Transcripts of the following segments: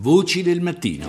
Voci del mattino.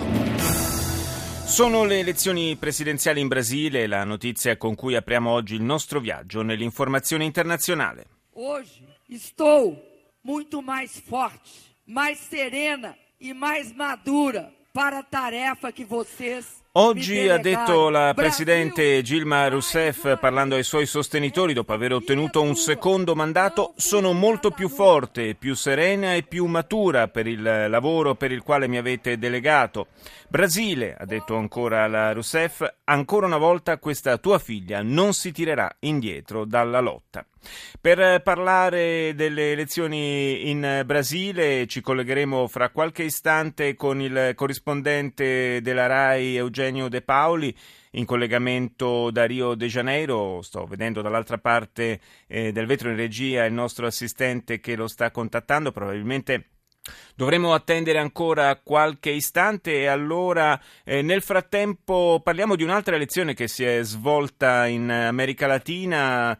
Sono le elezioni presidenziali in Brasile, la notizia con cui apriamo oggi il nostro viaggio nell'informazione internazionale. Hoje estou muito mais forte, mais serena e mais madura para a tarefa que vocês Oggi ha detto la presidente Dilma Rousseff, parlando ai suoi sostenitori dopo aver ottenuto un secondo mandato: sono molto più forte, più serena e più matura per il lavoro per il quale mi avete delegato. Brasile, ha detto ancora la Rousseff, ancora una volta questa tua figlia non si tirerà indietro dalla lotta. Per parlare delle elezioni in Brasile ci collegheremo fra qualche istante con il corrispondente della RAI Eugenio De Paoli, in collegamento da Rio de Janeiro. Sto vedendo dall'altra parte del vetro in regia il nostro assistente che lo sta contattando. Probabilmente dovremo attendere ancora qualche istante e allora nel frattempo parliamo di un'altra elezione che si è svolta in America Latina.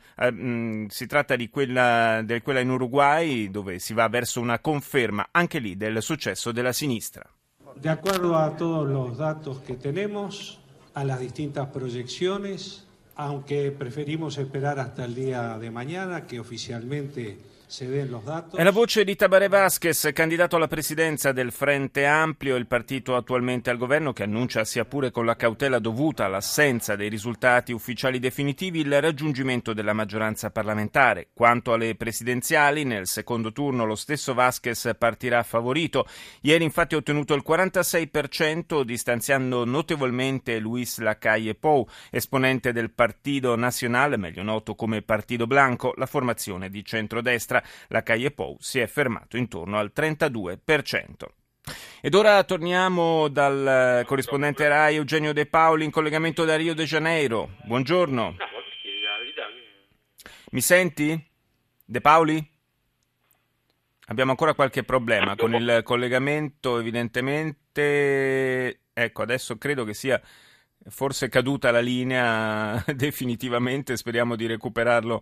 Si tratta di quella in Uruguay, dove si va verso una conferma anche lì del successo della sinistra. De acuerdo a todos los datos que tenemos, a las distintas proyecciones, aunque preferimos esperar hasta el día de mañana que oficialmente se den los datos. È la voce di Tabaré Vázquez, candidato alla presidenza del Frente Amplio, il partito attualmente al governo, che annuncia, sia pure con la cautela dovuta all'assenza dei risultati ufficiali definitivi, il raggiungimento della maggioranza parlamentare. Quanto alle presidenziali, nel secondo turno lo stesso Vázquez partirà favorito. Ieri infatti ha ottenuto il 46%, distanziando notevolmente Luis Lacalle Pou, esponente del Partido Nacional, meglio noto come Partido Blanco, la formazione di centrodestra. Lacalle Pou si è fermato intorno al 32%. Ed ora torniamo dal corrispondente RAI Eugenio De Paoli in collegamento da Rio de Janeiro. Buongiorno. Mi senti? De Paoli? Abbiamo ancora qualche problema con il collegamento, evidentemente. Ecco, adesso credo che sia forse caduta la linea definitivamente. Speriamo di recuperarlo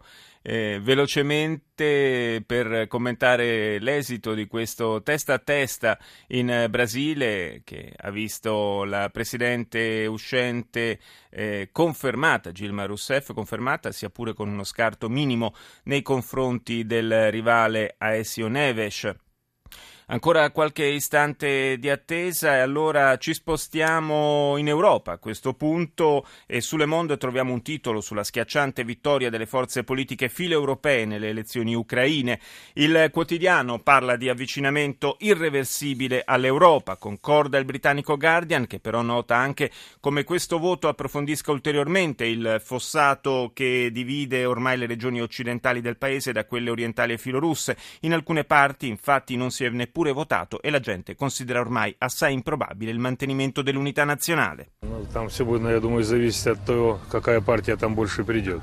velocemente per commentare l'esito di questo testa a testa in Brasile, che ha visto la presidente uscente confermata, Dilma Rousseff, confermata sia pure con uno scarto minimo nei confronti del rivale Aécio Neves. Ancora qualche istante di attesa e allora ci spostiamo in Europa a questo punto, e su Le Monde troviamo un titolo sulla schiacciante vittoria delle forze politiche filoeuropee nelle elezioni ucraine. Il quotidiano parla di avvicinamento irreversibile all'Europa. Concorda il britannico Guardian, che però nota anche come questo voto approfondisca ulteriormente il fossato che divide ormai le regioni occidentali del paese da quelle orientali e filorusse. In alcune parti infatti non si è neppure votato e la gente considera ormai assai improbabile il mantenimento dell'unità nazionale. Там сегодня, я думаю, зависит от того, какая партия там больше придет.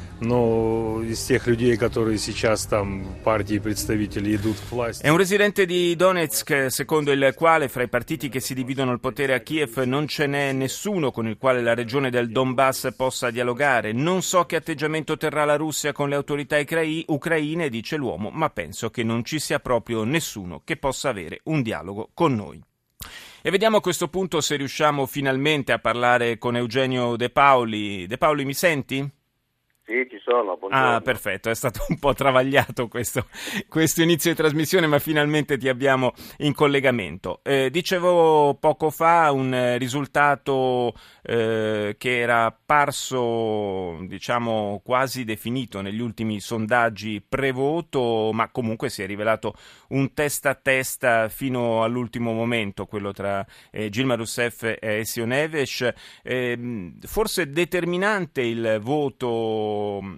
Но из тех людей, которые сейчас там партии представители идут к власти. È un residente di Donetsk, secondo il quale fra i partiti che si dividono il potere a Kiev non ce n'è nessuno con il quale la regione del Donbass possa dialogare. Non so che atteggiamento terrà la Russia con le autorità ucraine, dice l'uomo, ma penso che non ci sia proprio nessuno che possa avere un dialogo con noi. E vediamo a questo punto se riusciamo finalmente a parlare con Eugenio De Paoli. De Paoli, mi senti? Sì, ci sono, buongiorno. Ah, perfetto, è stato un po' travagliato questo inizio di trasmissione, ma finalmente ti abbiamo in collegamento. Dicevo poco fa un risultato che era apparso, diciamo, quasi definito negli ultimi sondaggi pre-voto, ma comunque si è rivelato un testa a testa fino all'ultimo momento, quello tra Dilma Rousseff e Aécio Neves. Forse determinante il voto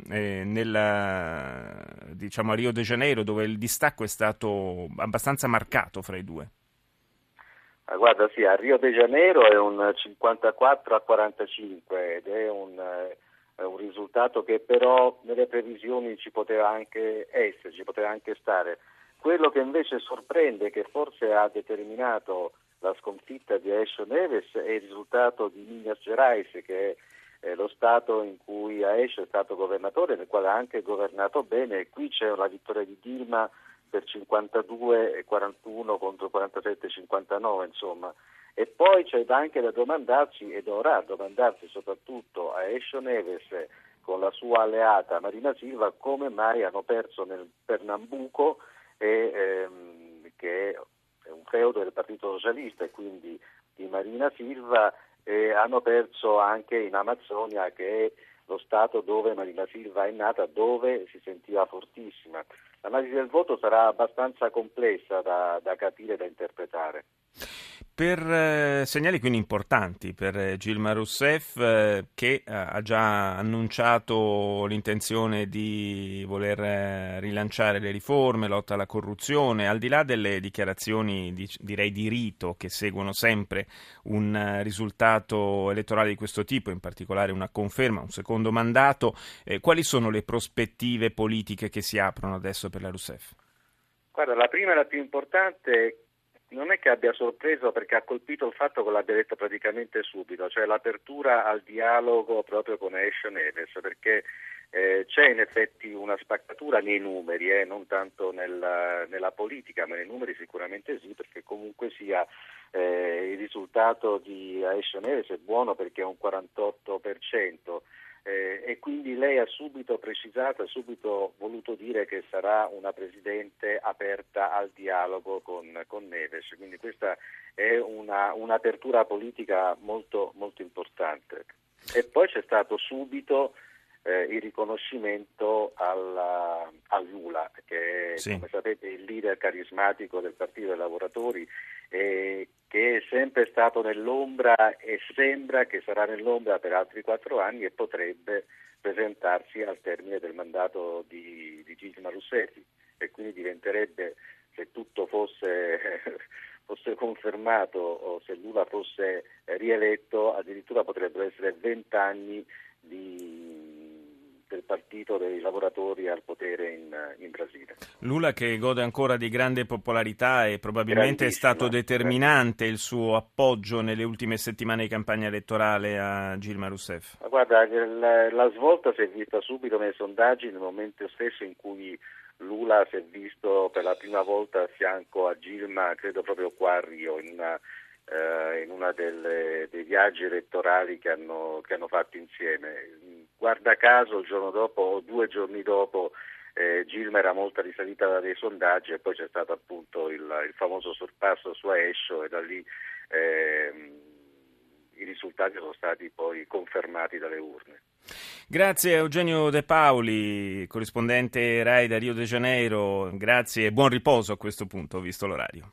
diciamo a Rio de Janeiro, dove il distacco è stato abbastanza marcato fra i due. Guarda, sì, a Rio de Janeiro è un 54-45 ed è un risultato che però nelle previsioni ci poteva anche essere, ci poteva anche stare. Quello che invece sorprende, che forse ha determinato la sconfitta di Aécio Neves, è il risultato di Minas Gerais, che è lo stato in cui Aécio è stato governatore, nel quale ha anche governato bene, e qui c'è la vittoria di Dilma per 52-41 contro 47-59, insomma. E poi c'è anche da domandarsi, e dovrà domandarsi soprattutto a Aécio Neves con la sua alleata Marina Silva, come mai hanno perso nel Pernambuco, che è un feudo del Partito Socialista e quindi di Marina Silva, e hanno perso anche in Amazzonia, che è lo stato dove Marina Silva è nata, dove si sentiva fortissima. L'analisi del voto sarà abbastanza complessa da capire e da interpretare. Per segnali quindi importanti per Dilma Rousseff, che ha già annunciato l'intenzione di voler rilanciare le riforme, lotta alla corruzione, al di là delle dichiarazioni direi di rito che seguono sempre un risultato elettorale di questo tipo, in particolare una conferma, un secondo mandato, quali sono le prospettive politiche che si aprono adesso per la Rousseff? Guarda, la prima e la più importante non è che abbia sorpreso, perché ha colpito il fatto che l'abbia detto praticamente subito, cioè l'apertura al dialogo proprio con Aécio Neves, perché c'è in effetti una spaccatura nei numeri, non tanto nella politica, ma nei numeri sicuramente sì, perché comunque sia il risultato di Aécio Neves è buono perché è un 48%. E quindi lei ha subito precisato, ha subito voluto dire che sarà una presidente aperta al dialogo con Neves, quindi questa è un'apertura politica molto, molto importante. E poi c'è stato subito il riconoscimento a Lula, che è, sì, come sapete, il leader carismatico del Partito dei Lavoratori, che è sempre stato nell'ombra e sembra che sarà nell'ombra per altri 4 anni e potrebbe presentarsi al termine del mandato di Dilma Rousseff, e quindi diventerebbe, se tutto fosse confermato o se Lula fosse rieletto, addirittura potrebbero essere 20 anni del Partito dei Lavoratori al potere in Brasile. Lula, che gode ancora di grande popolarità e probabilmente è stato determinante il suo appoggio nelle ultime settimane di campagna elettorale a Dilma Rousseff. Ma guarda, la svolta si è vista subito nei sondaggi, nel momento stesso in cui Lula si è visto per la prima volta a fianco a Dilma, credo proprio qua a Rio, in una dei viaggi elettorali che hanno fatto insieme. Guarda caso il giorno dopo o 2 giorni dopo Dilma era molto risalita dai sondaggi, e poi c'è stato appunto il famoso sorpasso su Aécio, e da lì i risultati sono stati poi confermati dalle urne. Grazie a Eugenio De Paoli, corrispondente RAI da Rio de Janeiro, grazie e buon riposo a questo punto, visto l'orario.